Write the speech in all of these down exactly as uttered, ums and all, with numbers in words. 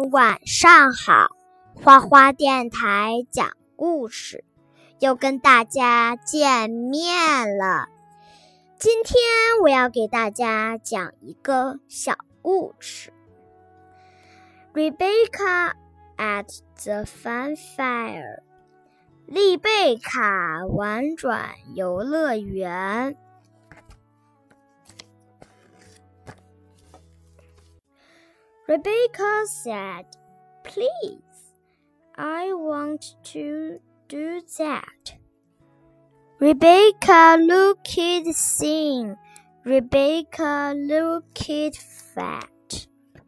们晚上好，花花电台讲故事，又跟大家见面了。今天我要给大家讲一个小故事。Rebecca at the fun fair， 丽贝卡玩转游乐园。Rebecca said, "Please, I want to do that." Rebecca looked thin. Rebecca looked fat.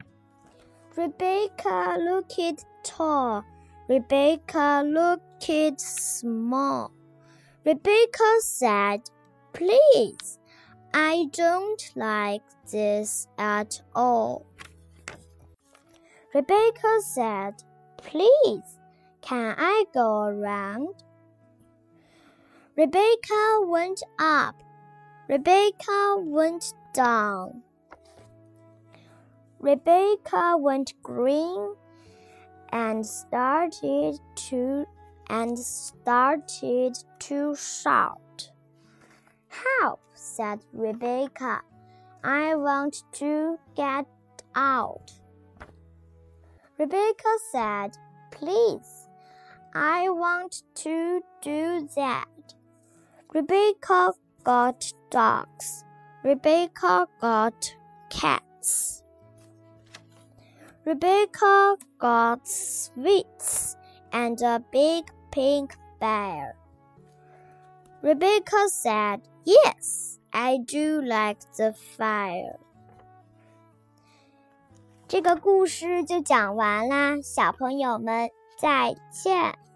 Rebecca looked tall. Rebecca looked small. Rebecca said, "Please, I don't like this at all." Rebecca said, "Please, can I go around?" Rebecca went up. Rebecca went down. Rebecca went green and started to and started to shout. "Help," said Rebecca. "I want to get out." Rebecca said, "Please, I want to do that." Rebecca got dogs. Rebecca got cats. Rebecca got sweets and a big pink bear. Rebecca said, "Yes, I do like the fire." 这个故事就讲完啦，小朋友们再见。